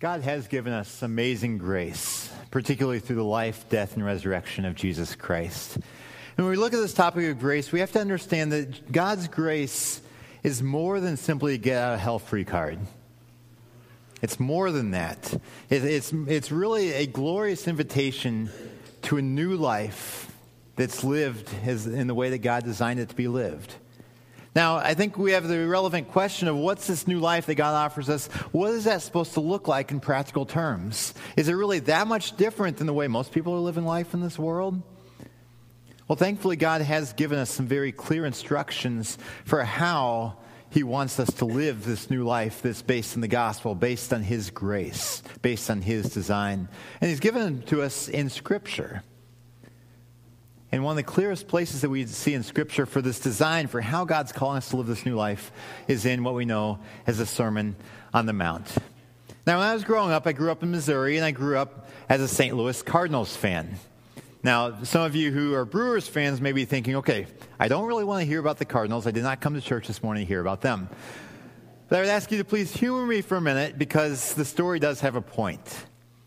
God has given us amazing grace, particularly through the life, death, and resurrection of Jesus Christ. And when we look at this topic of grace, we have to understand that God's grace is more than simply a get out of hell free card. It's more than that. It's really a glorious invitation to a new life that's lived in the way that God designed it to be lived. Now, I think we have the relevant question of what's this new life that God offers us? What is that supposed to look like in practical terms? Is it really that much different than the way most people are living life in this world? Well, thankfully, God has given us some very clear instructions for how He wants us to live this new life that's based in the gospel, based on His grace, based on His design. And He's given them to us in Scripture. And one of the clearest places that we see in Scripture for this design, for how God's calling us to live this new life, is in what we know as the Sermon on the Mount. Now, when I was growing up, I grew up in Missouri, and I grew up as a St. Louis Cardinals fan. Now, some of you who are Brewers fans may be thinking, okay, I don't really want to hear about the Cardinals. I did not come to church this morning to hear about them. But I would ask you to please humor me for a minute, because the story does have a point.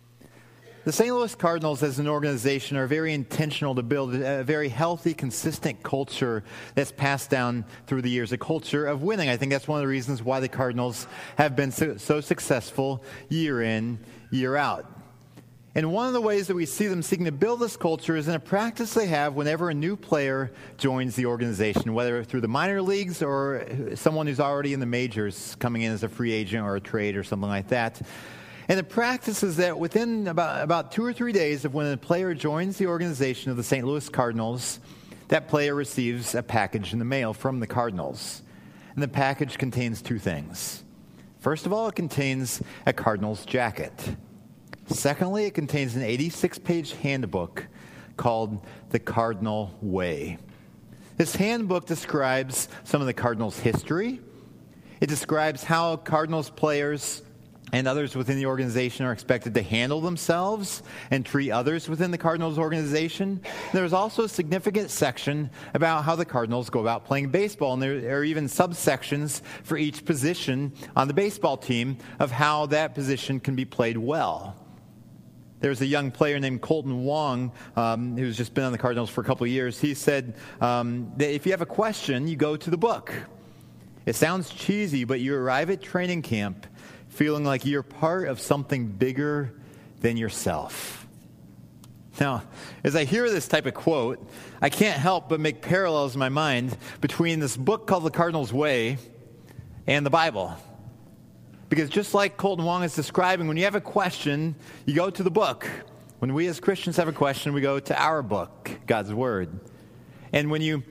The St. Louis Cardinals as an organization are very intentional to build a very healthy, consistent culture that's passed down through the years, a culture of winning. I think that's one of the reasons why the Cardinals have been so successful year in, year out. And one of the ways that we see them seeking to build this culture is in a practice they have whenever a new player joins the organization, whether through the minor leagues or someone who's already in the majors coming in as a free agent or a trade or something like that. And the practice is that within about 2 or 3 days of when a player joins the organization of the St. Louis Cardinals, that player receives a package in the mail from the Cardinals. And the package contains 2 things. First of all, it contains a Cardinals jacket. Secondly, it contains an 86-page handbook called The Cardinal Way. This handbook describes some of the Cardinals' history. It describes how Cardinals players and others within the organization are expected to handle themselves and treat others within the Cardinals organization. There's also a significant section about how the Cardinals go about playing baseball, and there are even subsections for each position on the baseball team of how that position can be played well. There's a young player named Kolten Wong who's just been on the Cardinals for a couple of years. He said that if you have a question, you go to the book. It sounds cheesy, but you arrive at training camp feeling like you're part of something bigger than yourself. Now, as I hear this type of quote, I can't help but make parallels in my mind between this book called The Cardinals Way and the Bible. Because just like Kolten Wong is describing, when you have a question, you go to the book. When we as Christians have a question, we go to our book, God's Word. And when you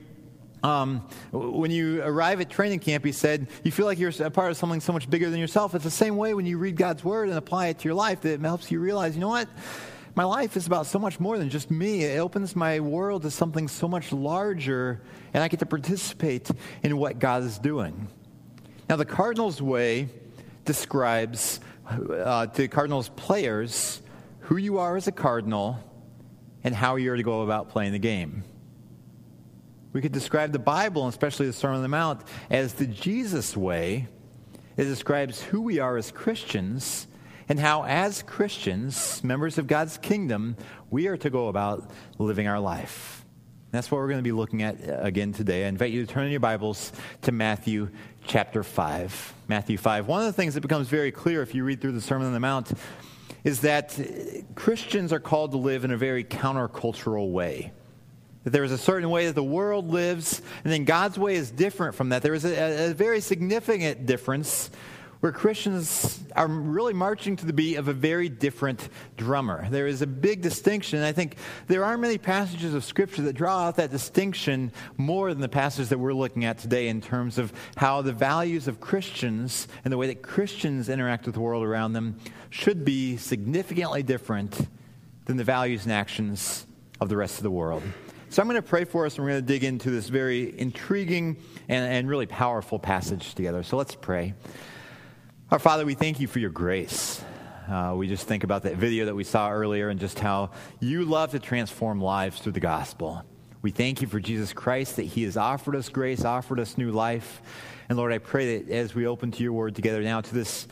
arrive at training camp, he said, you feel like you're a part of something so much bigger than yourself. It's the same way when you read God's Word and apply it to your life, that it helps you realize, you know what? My life is about so much more than just me. It opens my world to something so much larger, and I get to participate in what God is doing. Now, the Cardinals Way describes to Cardinals players who you are as a Cardinal and how you're to go about playing the game. We could describe the Bible, and especially the Sermon on the Mount, as the Jesus way. It describes who we are as Christians and how, as Christians, members of God's kingdom, we are to go about living our life. That's what we're going to be looking at again today. I invite you to turn in your Bibles to Matthew chapter 5. Matthew 5. One of the things that becomes very clear if you read through the Sermon on the Mount is that Christians are called to live in a very countercultural way. That there is a certain way that the world lives, and then God's way is different from that. There is a very significant difference where Christians are really marching to the beat of a very different drummer. There is a big distinction, and I think there aren't many passages of Scripture that draw out that distinction more than the passage that we're looking at today in terms of how the values of Christians and the way that Christians interact with the world around them should be significantly different than the values and actions of the rest of the world. So I'm going to pray for us, and we're going to dig into this very intriguing and really powerful passage together. So let's pray. Our Father, we thank you for your grace. We just think about that video that we saw earlier and just how you love to transform lives through the gospel. We thank you for Jesus Christ, that he has offered us grace, offered us new life. And Lord, I pray that as we open to your word together now to this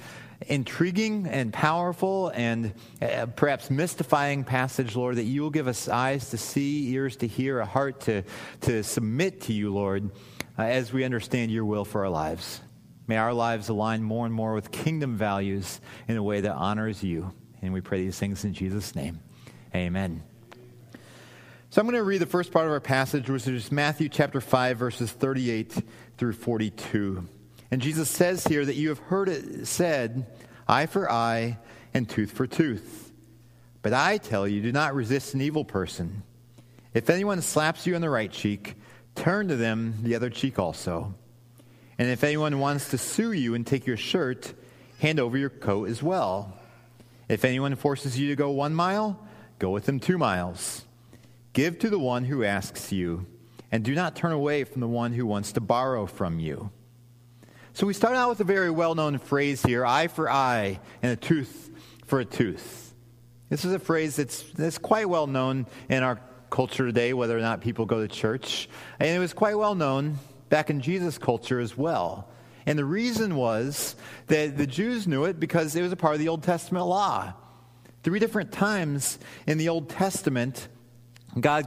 intriguing and powerful and perhaps mystifying passage, Lord, that you will give us eyes to see, ears to hear, a heart to submit to you, Lord, as we understand your will for our lives. May our lives align more and more with kingdom values in a way that honors you. And we pray these things in Jesus' name. Amen. So I'm going to read the first part of our passage, which is Matthew chapter 5, verses 38 through 42. And Jesus says here that you have heard it said, eye for eye and tooth for tooth. But I tell you, do not resist an evil person. If anyone slaps you on the right cheek, turn to them the other cheek also. And if anyone wants to sue you and take your shirt, hand over your coat as well. If anyone forces you to go 1 mile, go with them 2 miles. Give to the one who asks you, and do not turn away from the one who wants to borrow from you. So we start out with a very well-known phrase here, eye for eye and a tooth for a tooth. This is a phrase that's quite well known in our culture today, whether or not people go to church. And it was quite well known back in Jesus' culture as well. And the reason was that the Jews knew it because it was a part of the Old Testament law. 3 different times in the Old Testament, God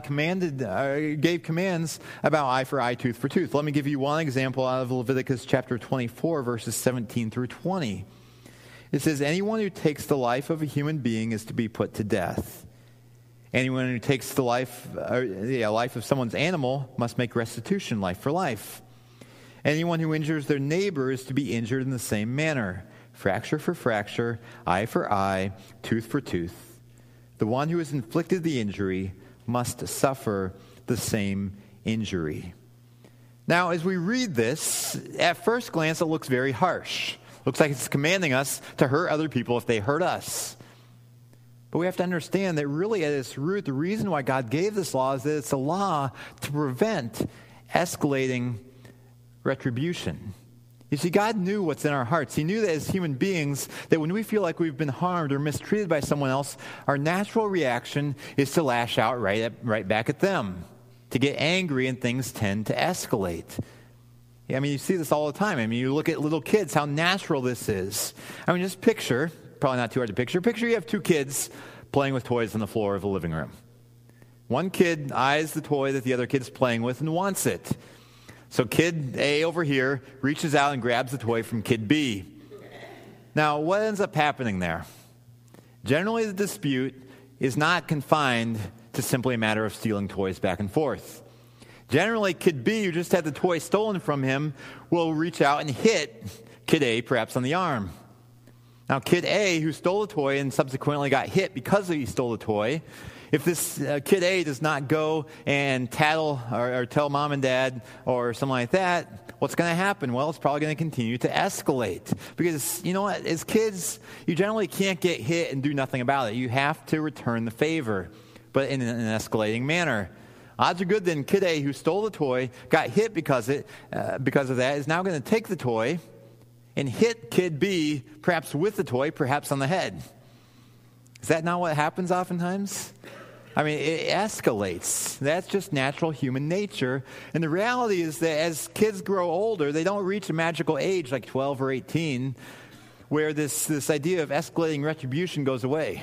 gave commands about eye for eye, tooth for tooth. Let me give you one example out of Leviticus chapter 24, verses 17 through 20. It says, anyone who takes the life of a human being is to be put to death. Anyone who takes the life of someone's animal must make restitution, life for life. Anyone who injures their neighbor is to be injured in the same manner. Fracture for fracture, eye for eye, tooth for tooth. The one who has inflicted the injury must suffer the same injury. Now, as we read this, at first glance, it looks very harsh. Looks like it's commanding us to hurt other people if they hurt us. But we have to understand that really at its root, the reason why God gave this law is that it's a law to prevent escalating retribution. You see, God knew what's in our hearts. He knew that as human beings, that when we feel like we've been harmed or mistreated by someone else, our natural reaction is to lash out right back at them, to get angry, and things tend to escalate. I mean, you see this all the time. I mean, you look at little kids, how natural this is. I mean, just picture, probably not too hard to picture you have 2 kids playing with toys on the floor of a living room. One kid eyes the toy that the other kid's playing with and wants it. So kid A over here reaches out and grabs the toy from kid B. Now, what ends up happening there? Generally, the dispute is not confined to simply a matter of stealing toys back and forth. Generally, kid B, who just had the toy stolen from him, will reach out and hit kid A, perhaps on the arm. Now, kid A, who stole the toy and subsequently got hit because he stole the toy, if this kid A does not go and tattle or tell mom and dad or something like that, what's going to happen? Well, it's probably going to continue to escalate. Because, you know what, as kids, you generally can't get hit and do nothing about it. You have to return the favor, but in an escalating manner. Odds are good then kid A, who stole the toy, got hit because of that, is now going to take the toy and hit kid B, perhaps with the toy, perhaps on the head. Is that not what happens oftentimes? I mean, it escalates. That's just natural human nature. And the reality is that as kids grow older, they don't reach a magical age like 12 or 18 where this idea of escalating retribution goes away.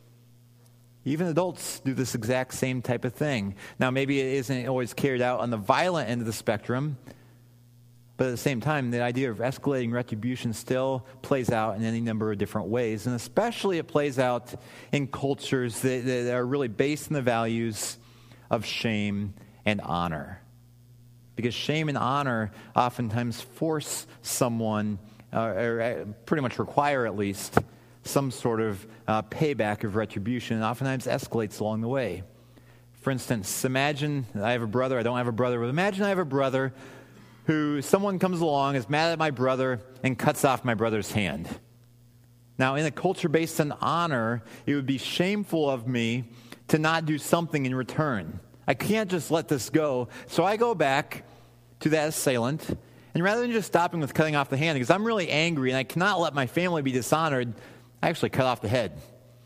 Even adults do this exact same type of thing. Now, maybe it isn't always carried out on the violent end of the spectrum, but at the same time, the idea of escalating retribution still plays out in any number of different ways. And especially it plays out in cultures that are really based on the values of shame and honor. Because shame and honor oftentimes force someone, or pretty much require at least, some sort of payback of retribution, and oftentimes escalates along the way. For instance, imagine I have a brother. I don't have a brother, but imagine I have a brother who someone comes along, is mad at my brother, and cuts off my brother's hand. Now, in a culture based on honor, it would be shameful of me to not do something in return. I can't just let this go. So I go back to that assailant, and rather than just stopping with cutting off the hand, because I'm really angry and I cannot let my family be dishonored, I actually cut off the head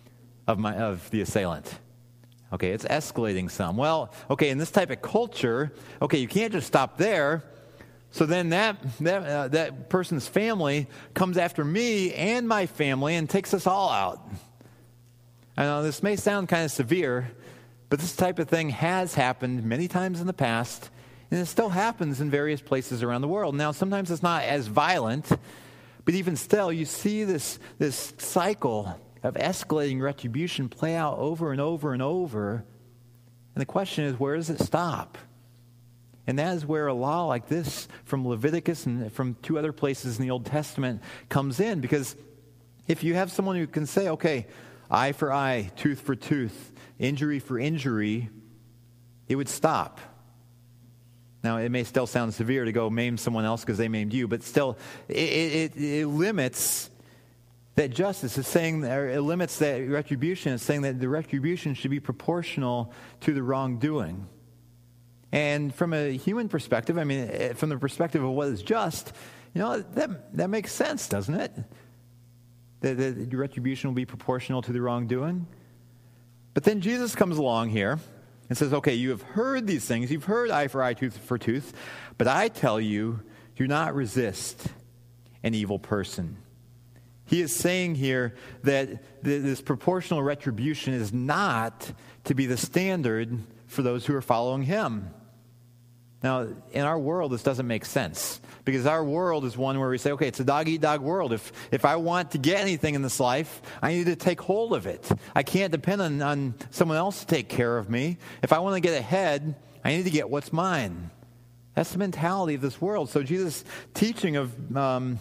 of the assailant. Okay, it's escalating some. Well, okay, in this type of culture, okay, you can't just stop there. So then that person's family comes after me and my family and takes us all out. I know this may sound kind of severe, but this type of thing has happened many times in the past, and it still happens in various places around the world. Now, sometimes it's not as violent, but even still, you see this cycle of escalating retribution play out over and over and over. And the question is, where does it stop? And that is where a law like this from Leviticus and from two other places in the Old Testament comes in. Because if you have someone who can say, okay, eye for eye, tooth for tooth, injury for injury, it would stop. Now, it may still sound severe to go maim someone else because they maimed you, but still, it limits that justice. It's saying, or it limits that retribution. It's saying that the retribution should be proportional to the wrongdoing. And from a human perspective, I mean, from the perspective of what is just, that makes sense, doesn't it? That the retribution will be proportional to the wrongdoing. But then Jesus comes along here and says, okay, you have heard these things. You've heard eye for eye, tooth for tooth. But I tell you, do not resist an evil person. He is saying here that this proportional retribution is not to be the standard for those who are following him. Now, in our world, this doesn't make sense, because our world is one where we say, okay, it's a dog-eat-dog world. If I want to get anything in this life, I need to take hold of it. I can't depend on someone else to take care of me. If I want to get ahead, I need to get what's mine. That's the mentality of this world. So Jesus' teaching of, don't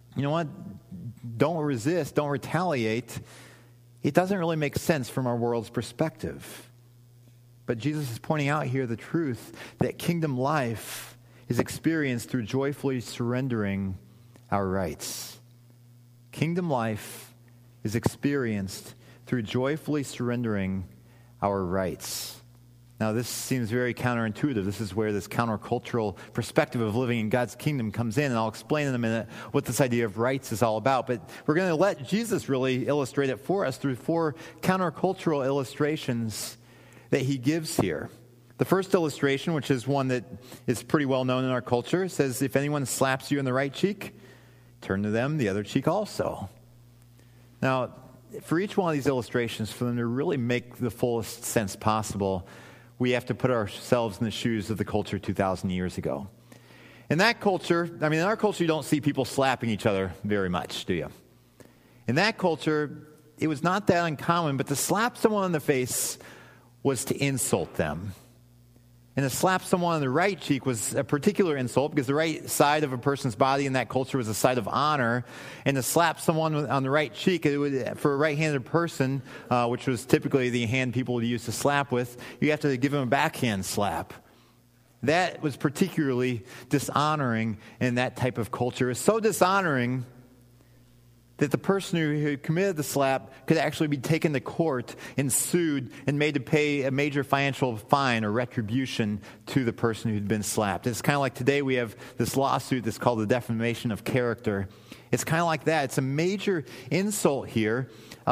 resist, don't retaliate, it doesn't really make sense from our world's perspective. But Jesus is pointing out here the truth that kingdom life is experienced through joyfully surrendering our rights. Kingdom life is experienced through joyfully surrendering our rights. Now, this seems very counterintuitive. This is where this countercultural perspective of living in God's kingdom comes in, and I'll explain in a minute what this idea of rights is all about. But we're going to let Jesus really illustrate it for us through 4 countercultural illustrations that he gives here. The first illustration, which is one that is pretty well known in our culture, says, if anyone slaps you in the right cheek, turn to them the other cheek also. Now, for each one of these illustrations, for them to really make the fullest sense possible, we have to put ourselves in the shoes of the culture 2,000 years ago. In that culture, in our culture, you don't see people slapping each other very much, do you? In that culture, it was not that uncommon, but to slap someone in the face was to insult them. And to slap someone on the right cheek was a particular insult, because the right side of a person's body in that culture was a side of honor. And to slap someone on the right cheek, for a right-handed person, which was typically the hand people would use to slap with, you have to give them a backhand slap. That was particularly dishonoring in that type of culture. It was so dishonoring that the person who committed the slap could actually be taken to court and sued and made to pay a major financial fine or retribution to the person who'd been slapped. It's kind of like today we have this lawsuit that's called the defamation of character. It's kind of like that. It's a major insult here.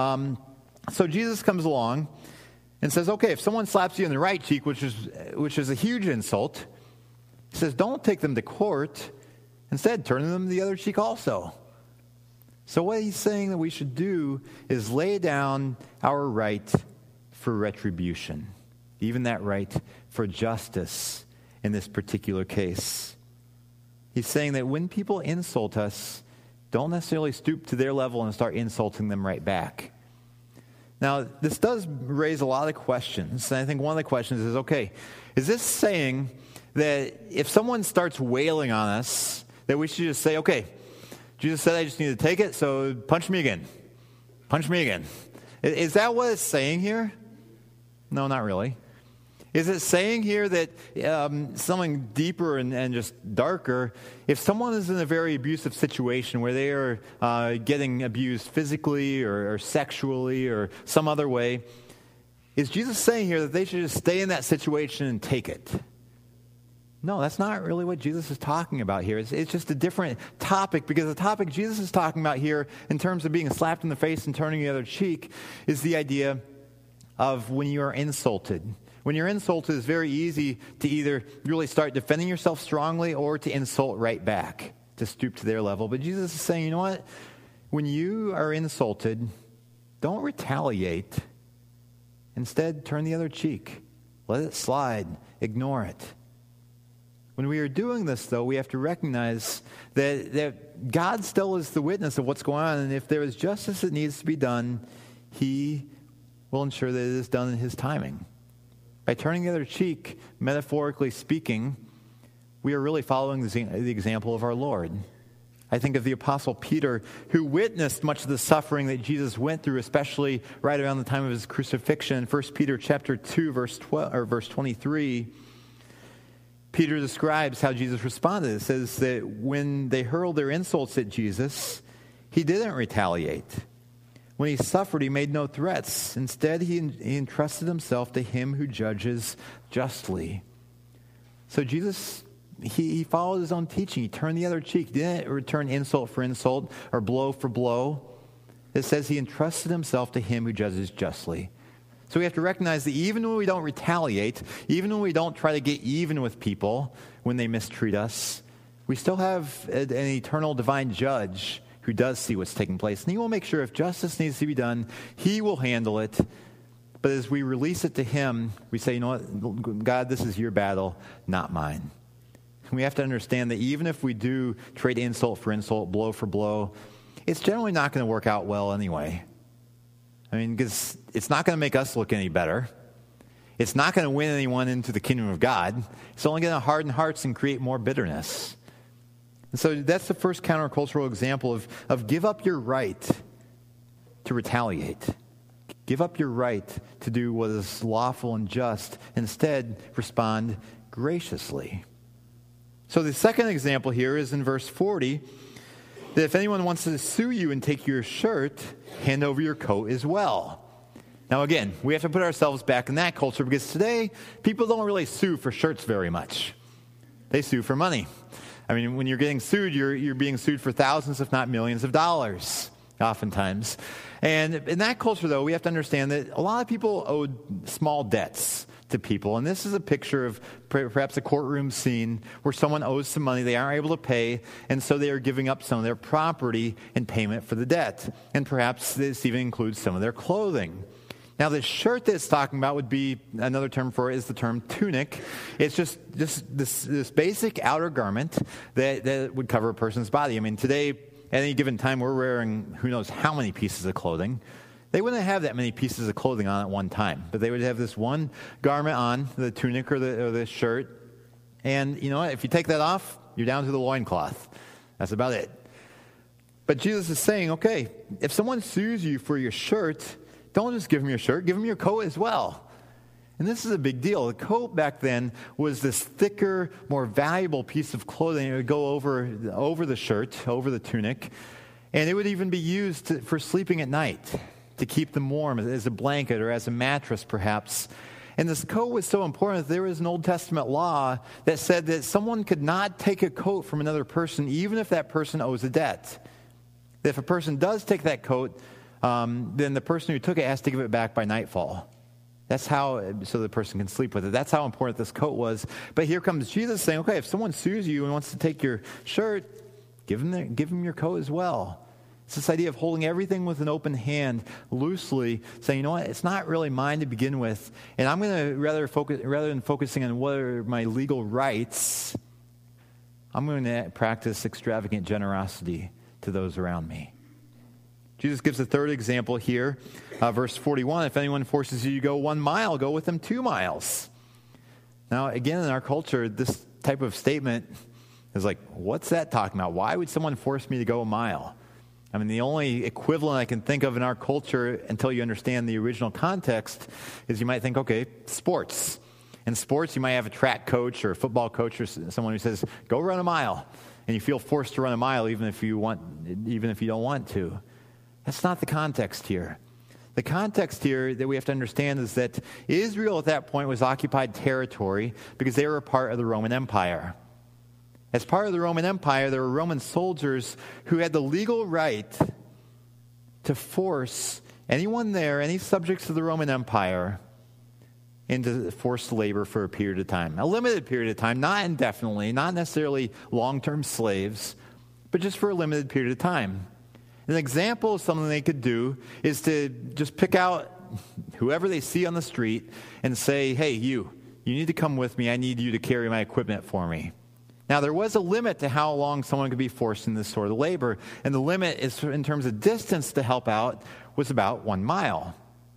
So Jesus comes along and says, okay, if someone slaps you in the right cheek, which is a huge insult, he says, don't take them to court. Instead, turn them the other cheek also. So what he's saying that we should do is lay down our right for retribution, even that right for justice in this particular case. He's saying that when people insult us, don't necessarily stoop to their level and start insulting them right back. Now, this does raise a lot of questions, and I think one of the questions is, okay, is this saying that if someone starts wailing on us, that we should just say, okay, Jesus said I just need to take it, so punch me again. Punch me again. Is that what it's saying here? No, not really. Is it saying here that something deeper and just darker, if someone is in a very abusive situation where they are getting abused physically or sexually or some other way, is Jesus saying here that they should just stay in that situation and take it? No, that's not really what Jesus is talking about here. It's just a different topic, because the topic Jesus is talking about here in terms of being slapped in the face and turning the other cheek is the idea of when you are insulted, When you're insulted, it's very easy to either really start defending yourself strongly or to insult right back, to stoop to their level. But Jesus is saying, you know what? When you are insulted, don't retaliate. Instead, turn the other cheek. Let it slide. Ignore it. When we are doing this, though, we have to recognize that God still is the witness of what's going on. And if there is justice that needs to be done, he will ensure that it is done in his timing. By turning the other cheek, metaphorically speaking, we are really following the example of our Lord. I think of the Apostle Peter, who witnessed much of the suffering that Jesus went through, especially right around the time of his crucifixion. In 1 Peter chapter 2, verse 23, Peter describes how Jesus responded. It says that when they hurled their insults at Jesus, he didn't retaliate. When he suffered, he made no threats. Instead, he entrusted himself to him who judges justly. So Jesus, he followed his own teaching. He turned the other cheek. He didn't return insult for insult or blow for blow. It says he entrusted himself to him who judges justly. So we have to recognize that even when we don't retaliate, even when we don't try to get even with people when they mistreat us, we still have an eternal divine judge who does see what's taking place. And he will make sure if justice needs to be done, he will handle it. But as we release it to him, we say, you know what, God, this is your battle, not mine. And we have to understand that even if we do trade insult for insult, blow for blow, it's generally not going to work out well anyway. I mean, because it's not going to make us look any better. It's not going to win anyone into the kingdom of God. It's only going to harden hearts and create more bitterness. And so that's the first countercultural example of give up your right to retaliate. Give up your right to do what is lawful and just. Instead, respond graciously. So the second example here is in verse 40, that if anyone wants to sue you and take your shirt, hand over your coat as well. Now again, we have to put ourselves back in that culture because today, people don't really sue for shirts very much. They sue for money. I mean, when you're getting sued, you're being sued for thousands, if not millions of dollars, oftentimes. And in that culture, though, we have to understand that a lot of people owed small debts to people. And this is a picture of perhaps a courtroom scene where someone owes some money they aren't able to pay, and so they are giving up some of their property in payment for the debt. And perhaps this even includes some of their clothing. Now, the shirt that it's talking about would be, another term for it is the term tunic. It's just this basic outer garment that would cover a person's body. I mean, today, at any given time, we're wearing who knows how many pieces of clothing. They wouldn't have that many pieces of clothing on at one time, but they would have this one garment on, the tunic or the shirt. And you know what? If you take that off, you're down to the loincloth. That's about it. But Jesus is saying, okay, if someone sues you for your shirt, don't just give them your shirt, give them your coat as well. And this is a big deal. The coat back then was this thicker, more valuable piece of clothing. It would go over the shirt, over the tunic, and it would even be used for sleeping at night, to keep them warm as a blanket or as a mattress, perhaps. And this coat was so important that there was an Old Testament law that said that someone could not take a coat from another person, even if that person owes a debt. If a person does take that coat, then the person who took it has to give it back by nightfall. That's how, so the person can sleep with it. That's how important this coat was. But here comes Jesus saying, okay, if someone sues you and wants to take your shirt, give them your coat as well. It's this idea of holding everything with an open hand, loosely, saying, you know what, it's not really mine to begin with, and I'm going to rather than focusing on what are my legal rights, I'm going to practice extravagant generosity to those around me. Jesus gives a third example here, verse 41. If anyone forces you to go 1 mile, go with them 2 miles. Now, again, in our culture, this type of statement is like, what's that talking about? Why would someone force me to go 1 mile? I mean, the only equivalent I can think of in our culture, until you understand the original context, is you might think, okay, sports. In sports, you might have a track coach or a football coach or someone who says, go run 1 mile. And you feel forced to run 1 mile even if you don't want to. That's not the context here. The context here that we have to understand is that Israel at that point was occupied territory because they were a part of the Roman Empire. As part of the Roman Empire, there were Roman soldiers who had the legal right to force anyone there, any subjects of the Roman Empire, into forced labor for a period of time. A limited period of time, not indefinitely, not necessarily long-term slaves, but just for a limited period of time. An example of something they could do is to just pick out whoever they see on the street and say, hey, you need to come with me. I need you to carry my equipment for me. Now, there was a limit to how long someone could be forced in this sort of labor, and the limit is in terms of distance to help out was about 1 mile.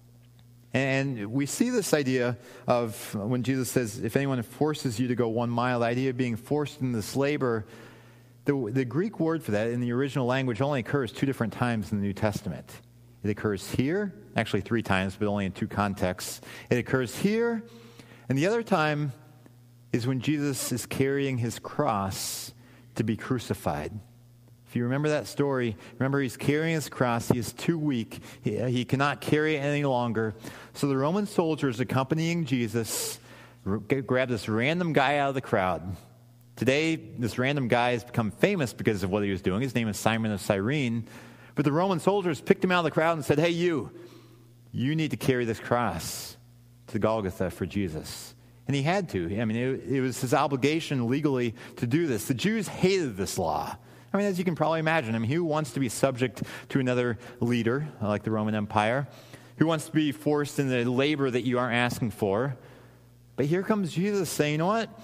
And we see this idea of when Jesus says, if anyone forces you to go 1 mile, the idea of being forced in this labor, the Greek word for that in the original language only occurs 2 different times in the New Testament. It occurs here, actually 3 times, but only in 2 contexts. It occurs here, and the other time is when Jesus is carrying his cross to be crucified. If you remember that story, remember he's carrying his cross. He is too weak. He cannot carry it any longer. So the Roman soldiers accompanying Jesus grab this random guy out of the crowd. Today, this random guy has become famous because of what he was doing. His name is Simon of Cyrene. But the Roman soldiers picked him out of the crowd and said, hey, you need to carry this cross to Golgotha for Jesus. And he had to. I mean, it was his obligation legally to do this. The Jews hated this law. I mean, as you can probably imagine, who wants to be subject to another leader like the Roman Empire? Who wants to be forced in the labor that you aren't asking for? But here comes Jesus saying, you know what?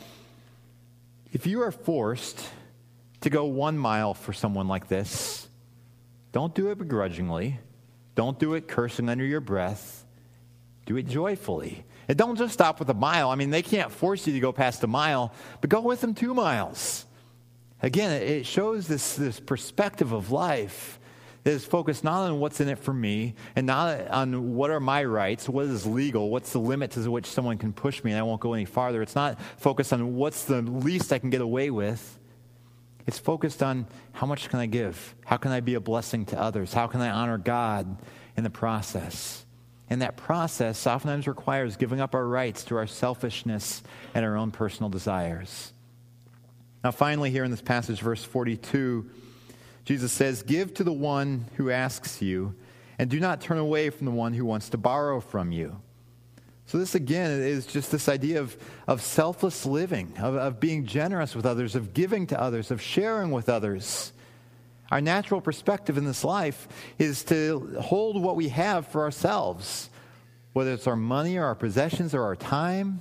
If you are forced to go 1 mile for someone like this, don't do it begrudgingly. Don't do it cursing under your breath. Do it joyfully. And don't just stop with a mile. I mean, they can't force you to go past a mile, but go with them 2 miles. Again, it shows this perspective of life that is focused not on what's in it for me and not on what are my rights, what is legal, what's the limit to which someone can push me and I won't go any farther. It's not focused on what's the least I can get away with. It's focused on how much can I give? How can I be a blessing to others? How can I honor God in the process? And that process oftentimes requires giving up our rights to our selfishness and our own personal desires. Now, finally, here in this passage, verse 42, Jesus says, give to the one who asks you, and do not turn away from the one who wants to borrow from you. So this, again, is just this idea of selfless living, of being generous with others, of giving to others, of sharing with others. Our natural perspective in this life is to hold what we have for ourselves, whether it's our money or our possessions or our time.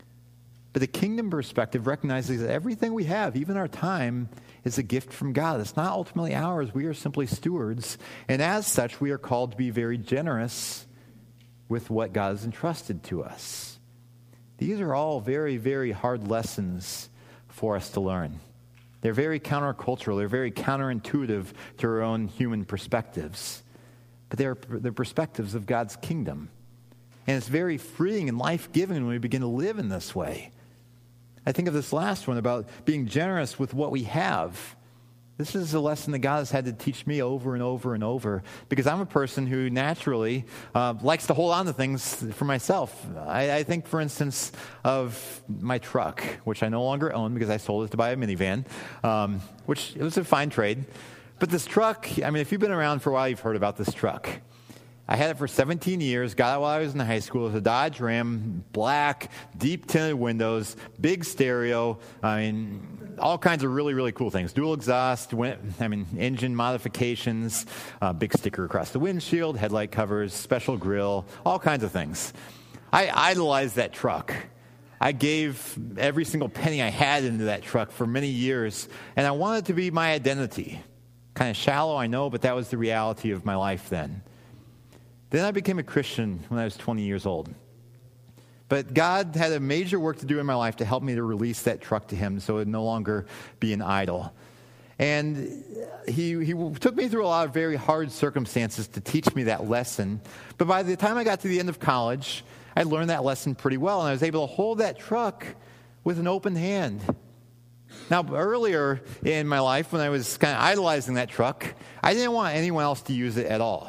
But the kingdom perspective recognizes that everything we have, even our time, is a gift from God. It's not ultimately ours. We are simply stewards. And as such, we are called to be very generous with what God has entrusted to us. These are all very, very hard lessons for us to learn. They're very countercultural. They're very counterintuitive to our own human perspectives. But they're perspectives of God's kingdom. And it's very freeing and life-giving when we begin to live in this way. I think of this last one about being generous with what we have. This is a lesson that God has had to teach me over and over and over, because I'm a person who naturally likes to hold on to things for myself. I think, for instance, of my truck, which I no longer own because I sold it to buy a minivan, which it was a fine trade. But this truck, if you've been around for a while, you've heard about this truck. I had it for 17 years, got it while I was in high school. It was a Dodge Ram, black, deep tinted windows, big stereo. All kinds of really, really cool things. Dual exhaust, engine modifications, big sticker across the windshield, headlight covers, special grill, all kinds of things. I idolized that truck. I gave every single penny I had into that truck for many years, and I wanted it to be my identity. Kind of shallow, I know, but that was the reality of my life then. Then I became a Christian when I was 20 years old. But God had a major work to do in my life to help me to release that truck to him so it would no longer be an idol. And he took me through a lot of very hard circumstances to teach me that lesson. But by the time I got to the end of college, I learned that lesson pretty well, and I was able to hold that truck with an open hand. Now, earlier in my life, when I was kind of idolizing that truck, I didn't want anyone else to use it at all.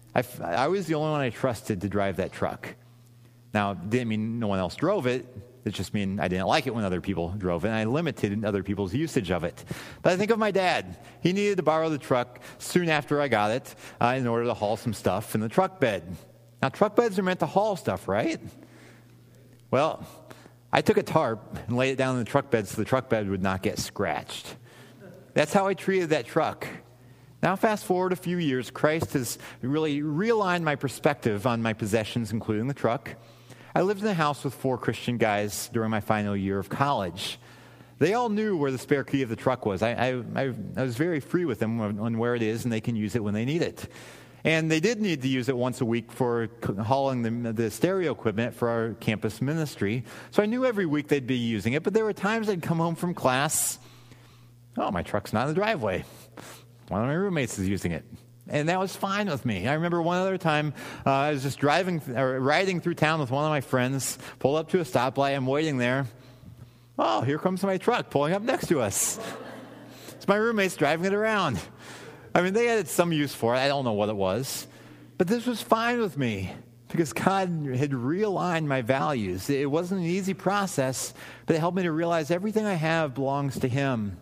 I was the only one I trusted to drive that truck. Now, it didn't mean no one else drove it. It just mean I didn't like it when other people drove it, and I limited other people's usage of it. But I think of my dad. He needed to borrow the truck soon after I got it in order to haul some stuff in the truck bed. Now, truck beds are meant to haul stuff, right? Well, I took a tarp and laid it down in the truck bed so the truck bed would not get scratched. That's how I treated that truck. Now, fast forward a few years, Christ has really realigned my perspective on my possessions, including the truck. I lived in a house with 4 Christian guys during my final year of college. They all knew where the spare key of the truck was. I was very free with them on where it is, and they can use it when they need it. And they did need to use it once a week for hauling the stereo equipment for our campus ministry. So I knew every week they'd be using it, but there were times I'd come home from class, oh, my truck's not in the driveway. One of my roommates is using it. And that was fine with me. I remember one other time I was just riding through town with one of my friends, pulled up to a stoplight, I'm waiting there. Oh, here comes my truck pulling up next to us. It's my roommates driving it around. I mean, they had some use for it. I don't know what it was. But this was fine with me because God had realigned my values. It wasn't an easy process, but it helped me to realize everything I have belongs to Him.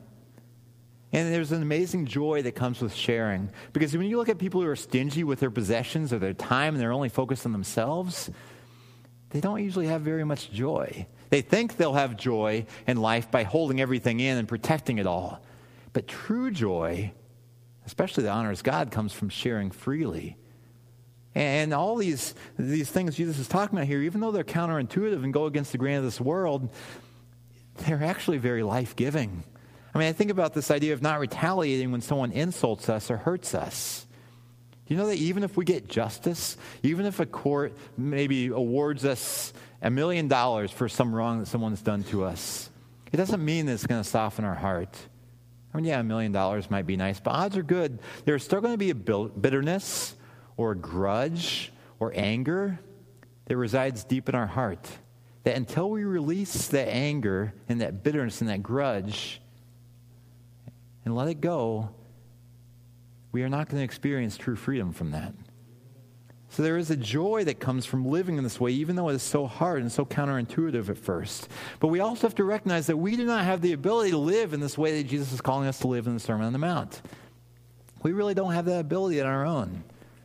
And there's an amazing joy that comes with sharing. Because when you look at people who are stingy with their possessions or their time and they're only focused on themselves, they don't usually have very much joy. They think they'll have joy in life by holding everything in and protecting it all. But true joy, especially that honors God, comes from sharing freely. And all these things Jesus is talking about here, even though they're counterintuitive and go against the grain of this world, they're actually very life-giving. I mean, I think about this idea of not retaliating when someone insults us or hurts us. Do you know that even if we get justice, even if a court maybe awards us $1 million for some wrong that someone's done to us, it doesn't mean that it's going to soften our heart. I mean, yeah, $1 million might be nice, but odds are good there's still going to be a bitterness or a grudge or anger that resides deep in our heart. That until we release that anger and that bitterness and that grudge and let it go, we are not going to experience true freedom from that. So there is a joy that comes from living in this way, even though it is so hard and so counterintuitive at first. But we also have to recognize that we do not have the ability to live in this way that Jesus is calling us to live in the Sermon on the Mount. We really don't have that ability on our own.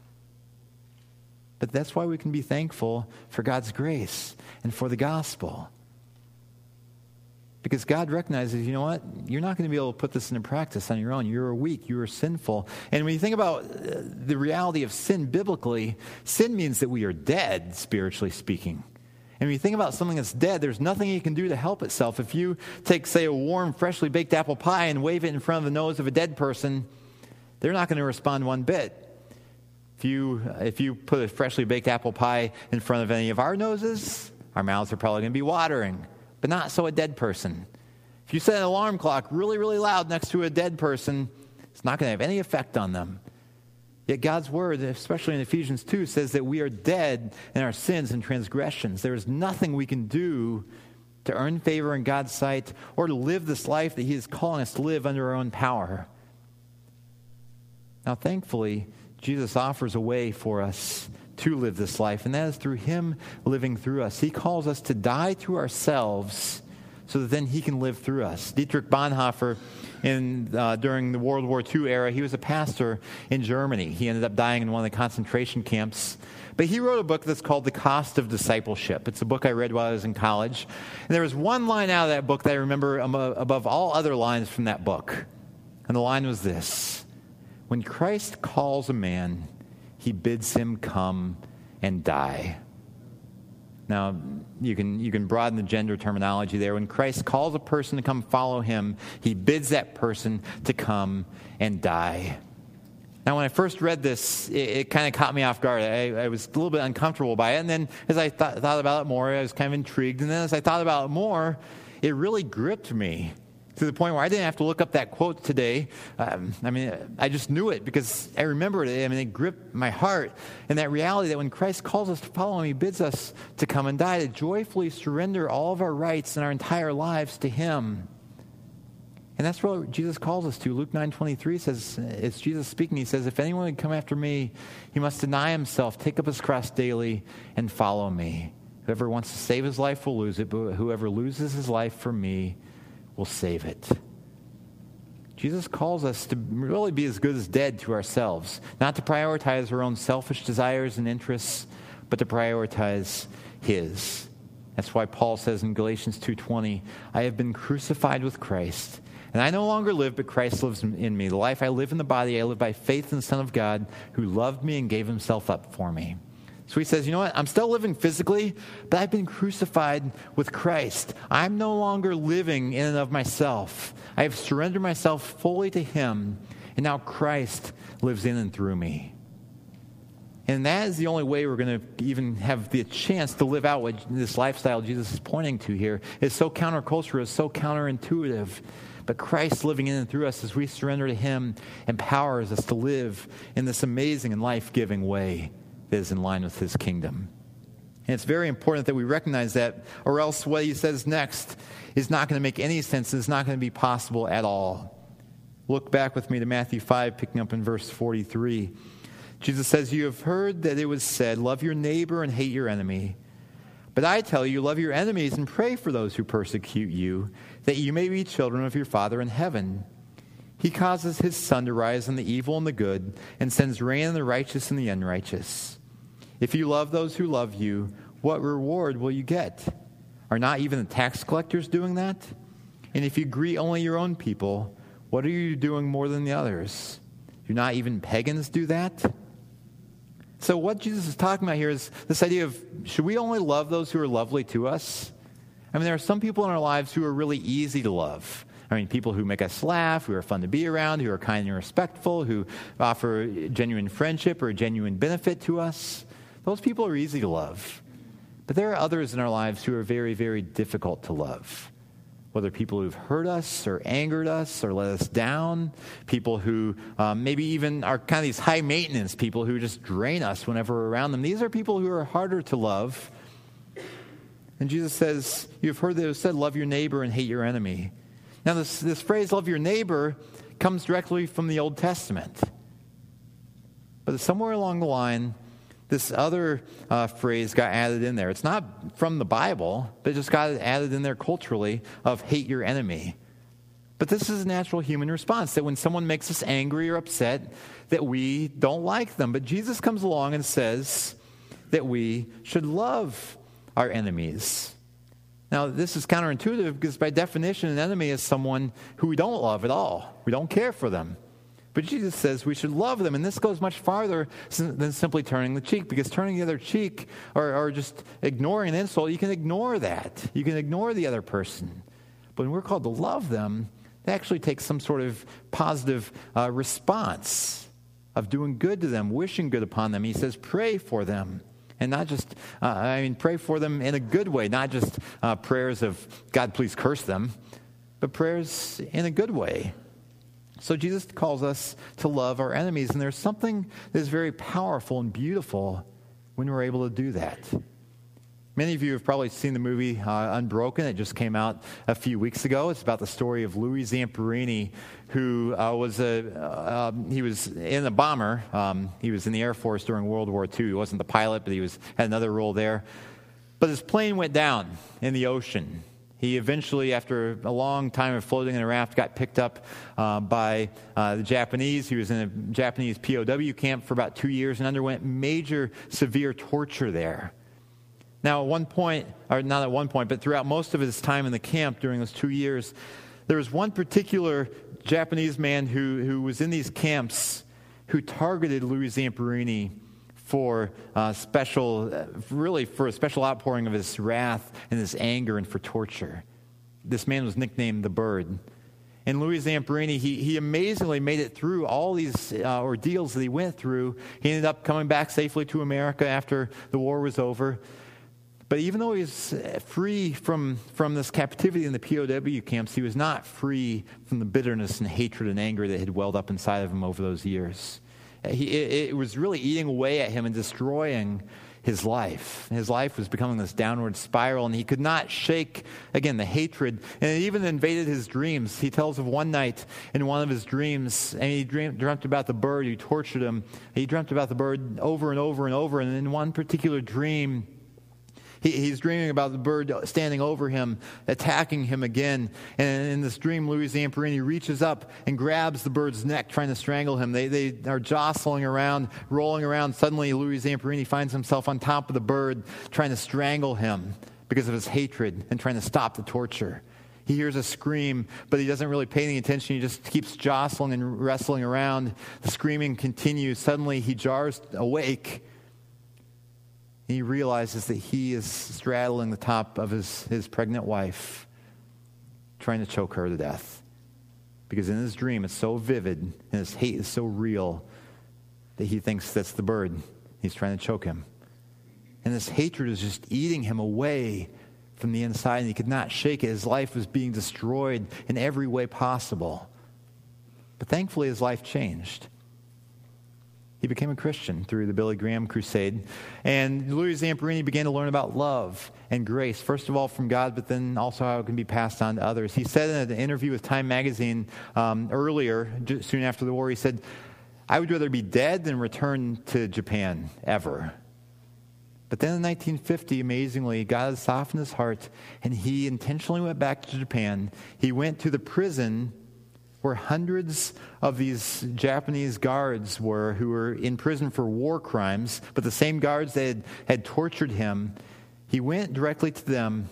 But that's why we can be thankful for God's grace and for the gospel. Because God recognizes, you know what? You're not going to be able to put this into practice on your own. You're weak. You are sinful. And when you think about the reality of sin biblically, sin means that we are dead, spiritually speaking. And when you think about something that's dead, there's nothing you can do to help itself. If you take, say, a warm, freshly baked apple pie and wave it in front of the nose of a dead person, they're not going to respond one bit. If you put a freshly baked apple pie in front of any of our noses, our mouths are probably going to be watering. But not so a dead person. If you set an alarm clock really, really loud next to a dead person, it's not going to have any effect on them. Yet God's word, especially in Ephesians 2, says that we are dead in our sins and transgressions. There is nothing we can do to earn favor in God's sight or to live this life that He is calling us to live under our own power. Now, thankfully, Jesus offers a way for us to live this life, and that is through Him living through us. He calls us to die to ourselves so that then He can live through us. Dietrich Bonhoeffer, during the World War II era, he was a pastor in Germany. He ended up dying in one of the concentration camps. But he wrote a book that's called The Cost of Discipleship. It's a book I read while I was in college. And there was one line out of that book that I remember above all other lines from that book. And the line was this: when Christ calls a man, He bids him come and die. Now, you can broaden the gender terminology there. When Christ calls a person to come follow Him, He bids that person to come and die. Now, when I first read this, it kind of caught me off guard. I was a little bit uncomfortable by it. And then as I thought about it more, I was kind of intrigued. And then as I thought about it more, it really gripped me. To the point where I didn't have to look up that quote today. I just knew it because I remembered it. It gripped my heart. And that reality that when Christ calls us to follow Him, He bids us to come and die, to joyfully surrender all of our rights and our entire lives to Him. And that's what Jesus calls us to. Luke 9:23 says, it's Jesus speaking. He says, if anyone would come after me, he must deny himself, take up his cross daily, and follow me. Whoever wants to save his life will lose it, but whoever loses his life for me will save it. Jesus calls us to really be as good as dead to ourselves, not to prioritize our own selfish desires and interests, but to prioritize His. That's why Paul says in Galatians 2:20, I have been crucified with Christ, and I no longer live, but Christ lives in me. The life I live in the body, I live by faith in the Son of God, who loved me and gave himself up for me. So he says, you know what? I'm still living physically, but I've been crucified with Christ. I'm no longer living in and of myself. I have surrendered myself fully to him, and now Christ lives in and through me. And that is the only way we're going to even have the chance to live out what this lifestyle Jesus is pointing to here. It's so countercultural, it's so counterintuitive. But Christ living in and through us as we surrender to him empowers us to live in this amazing and life-giving way that is in line with his kingdom. And it's very important that we recognize that, or else what he says next is not going to make any sense. It's not going to be possible at all. Look back with me to Matthew 5, picking up in verse 43. Jesus says, you have heard that it was said, love your neighbor and hate your enemy. But I tell you, love your enemies and pray for those who persecute you, that you may be children of your Father in heaven. He causes his sun to rise on the evil and the good, and sends rain on the righteous and the unrighteous. If you love those who love you, what reward will you get? Are not even the tax collectors doing that? And if you greet only your own people, what are you doing more than the others? Do not even pagans do that? So what Jesus is talking about here is this idea of, should we only love those who are lovely to us? I mean, there are some people in our lives who are really easy to love. I mean, people who make us laugh, who are fun to be around, who are kind and respectful, who offer genuine friendship or genuine benefit to us. Those people are easy to love. But there are others in our lives who are very, very difficult to love. Whether people who've hurt us or angered us or let us down, people who maybe even are kind of these high maintenance people who just drain us whenever we're around them. These are people who are harder to love. And Jesus says, you've heard that it was said, love your neighbor and hate your enemy. Now this phrase, love your neighbor, comes directly from the Old Testament. But somewhere along the line, this other phrase got added in there. It's not from the Bible, but it just got added in there culturally of hate your enemy. But this is a natural human response, that when someone makes us angry or upset, that we don't like them. But Jesus comes along and says that we should love our enemies. Now, this is counterintuitive because by definition, an enemy is someone who we don't love at all. We don't care for them. But Jesus says we should love them, and this goes much farther than simply turning the cheek, because turning the other cheek or just ignoring an insult, you can ignore that. You can ignore the other person. But when we're called to love them, that actually takes some sort of positive response of doing good to them, wishing good upon them. He says pray for them, and not just, pray for them in a good way, not just prayers of, God, please curse them, but prayers in a good way. So Jesus calls us to love our enemies, and there's something that is very powerful and beautiful when we're able to do that. Many of you have probably seen the movie Unbroken. It just came out a few weeks ago. It's about the story of Louis Zamperini, who was in a bomber. He was in the Air Force during World War II. He wasn't the pilot, but he had another role there. But his plane went down in the ocean. He eventually, after a long time of floating in a raft, got picked up by the Japanese. He was in a Japanese POW camp for about 2 years and underwent major, severe torture there. Now, at one point, or not at one point, but throughout most of his time in the camp during those 2 years, there was one particular Japanese man who was in these camps who targeted Louis Zamperini for a special outpouring of his wrath and his anger and for torture. This man was nicknamed the Bird. And Louis Zamperini, he amazingly made it through all these ordeals that he went through. He ended up coming back safely to America after the war was over. But even though he was free from this captivity in the POW camps, he was not free from the bitterness and hatred and anger that had welled up inside of him over those years. It was really eating away at him and destroying his life. His life was becoming this downward spiral, and he could not shake, again, the hatred. And it even invaded his dreams. He tells of one night in one of his dreams, and he dreamt about the bird who tortured him. He dreamt about the bird over and over and over, and in one particular dream, he's dreaming about the bird standing over him, attacking him again. And in this dream, Louis Zamperini reaches up and grabs the bird's neck, trying to strangle him. They are jostling around, rolling around. Suddenly, Louis Zamperini finds himself on top of the bird, trying to strangle him. because of his hatred and trying to stop the torture. He hears a scream, but he doesn't really pay any attention. He just keeps jostling and wrestling around. The screaming continues. Suddenly, he jars awake. And he realizes that he is straddling the top of his pregnant wife, trying to choke her to death. Because in his dream, it's so vivid, and his hate is so real, that he thinks that's the bird. He's trying to choke him. And this hatred is just eating him away from the inside, and he could not shake it. His life was being destroyed in every way possible. But thankfully, his life changed. He became a Christian through the Billy Graham crusade. And Louis Zamperini began to learn about love and grace, first of all from God, but then also how it can be passed on to others. He said in an interview with Time magazine earlier, soon after the war, he said, "I would rather be dead than return to Japan ever." But then in 1950, amazingly, God had softened his heart, and he intentionally went back to Japan. He went to the prison where hundreds of these Japanese guards were, who were in prison for war crimes, but the same guards that had tortured him. He went directly to them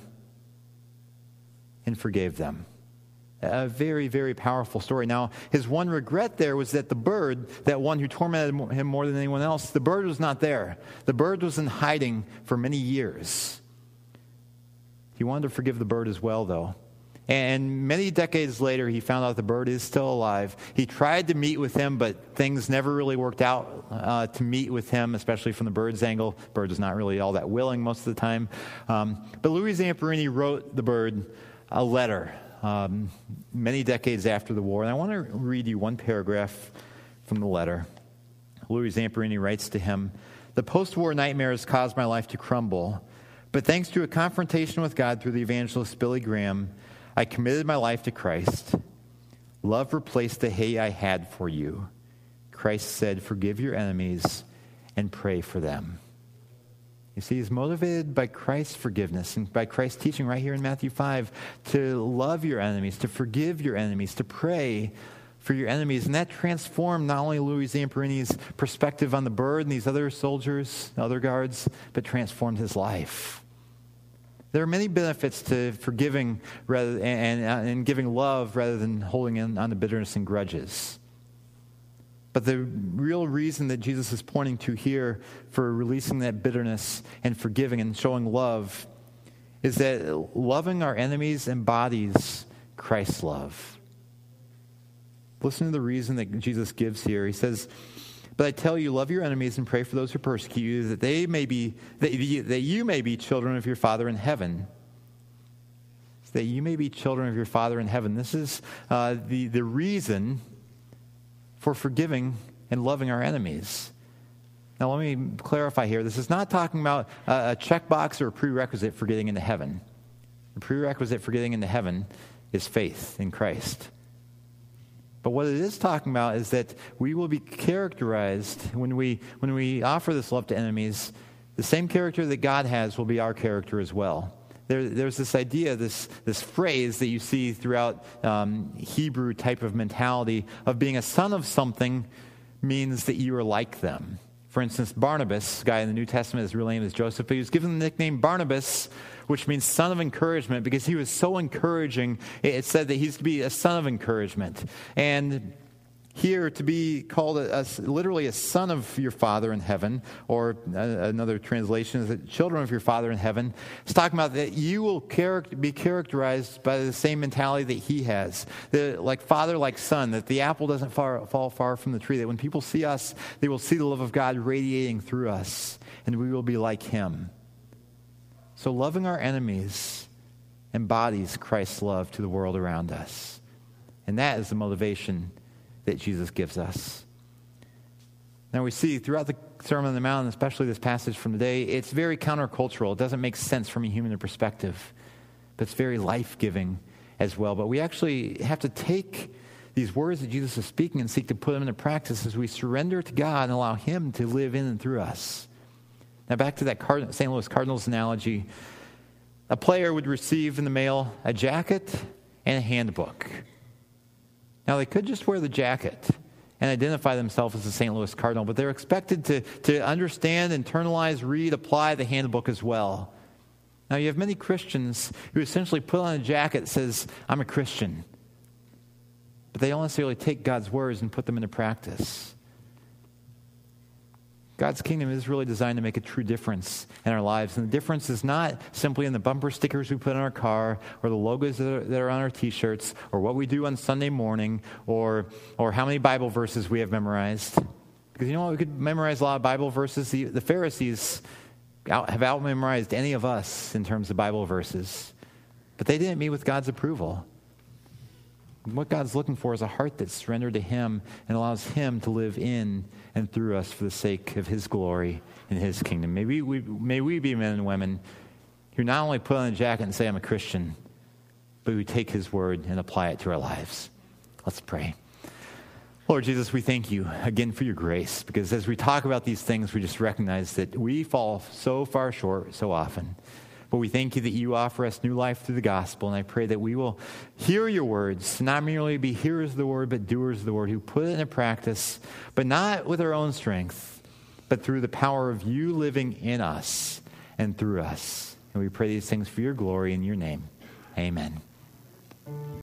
and forgave them. A very, very powerful story. Now, his one regret there was that the bird, that one who tormented him more than anyone else, the bird was not there. The bird was in hiding for many years. He wanted to forgive the bird as well, though. And many decades later, he found out the bird is still alive. He tried to meet with him, but things never really worked out to meet with him, especially from the bird's angle. The bird is not really all that willing most of the time. But Louis Zamperini wrote the bird a letter many decades after the war. And I want to read you one paragraph from the letter. Louis Zamperini writes to him, "The post-war nightmares caused my life to crumble, but thanks to a confrontation with God through the evangelist Billy Graham, I committed my life to Christ. Love replaced the hate I had for you. Christ said, 'Forgive your enemies and pray for them.'" You see, he's motivated by Christ's forgiveness and by Christ's teaching right here in Matthew 5 to love your enemies, to forgive your enemies, to pray for your enemies. And that transformed not only Louis Zamperini's perspective on the bird and these other soldiers, other guards, but transformed his life. There are many benefits to forgiving and giving love rather than holding on to bitterness and grudges. But the real reason that Jesus is pointing to here for releasing that bitterness and forgiving and showing love is that loving our enemies embodies Christ's love. Listen to the reason that Jesus gives here. He says, "But I tell you, love your enemies and pray for those who persecute you, that you may be children of your Father in heaven." That you may be children of your Father in heaven. This is the reason for forgiving and loving our enemies. Now, let me clarify here. This is not talking about a checkbox or a prerequisite for getting into heaven. The prerequisite for getting into heaven is faith in Christ. But what it is talking about is that we will be characterized, when we offer this love to enemies, the same character that God has will be our character as well. There's this idea, this phrase that you see throughout Hebrew type of mentality of being a son of something means that you are like them. For instance, Barnabas, the guy in the New Testament, his real name is Joseph, but he was given the nickname Barnabas, which means son of encouragement, because he was so encouraging. It said that he's to be a son of encouragement. And here, to be called literally a son of your Father in heaven, or another translation is that children of your Father in heaven, it's talking about that you will be characterized by the same mentality that he has. Like father, like son, that the apple doesn't fall far from the tree, that when people see us, they will see the love of God radiating through us, and we will be like him. So loving our enemies embodies Christ's love to the world around us. And that is the motivation that Jesus gives us. Now we see throughout the Sermon on the Mount, especially this passage from today, it's very countercultural. It doesn't make sense from a human perspective, but it's very life-giving as well. But we actually have to take these words that Jesus is speaking and seek to put them into practice as we surrender to God and allow him to live in and through us. Now back to that St. Louis Cardinals analogy. A player would receive in the mail a jacket and a handbook. Now, they could just wear the jacket and identify themselves as a St. Louis Cardinal, but they're expected to understand, internalize, read, apply the handbook as well. Now, you have many Christians who essentially put on a jacket that says, I'm a Christian. But they don't necessarily take God's words and put them into practice. God's kingdom is really designed to make a true difference in our lives. And the difference is not simply in the bumper stickers we put on our car or the logos that are on our T-shirts or what we do on Sunday morning or how many Bible verses we have memorized. Because you know what? We could memorize a lot of Bible verses. The Pharisees have out-memorized any of us in terms of Bible verses. But they didn't meet with God's approval. What God's looking for is a heart that's surrendered to Him and allows Him to live in and through us for the sake of His glory and His kingdom. May we be men and women who not only put on a jacket and say, I'm a Christian, but who take His word and apply it to our lives. Let's pray. Lord Jesus, we thank you again for your grace, because as we talk about these things, we just recognize that we fall so far short so often. But we thank you that you offer us new life through the gospel, and I pray that we will hear your words, not merely be hearers of the word, but doers of the word, who put it into practice, but not with our own strength, but through the power of you living in us and through us. And we pray these things for your glory in your name. Amen.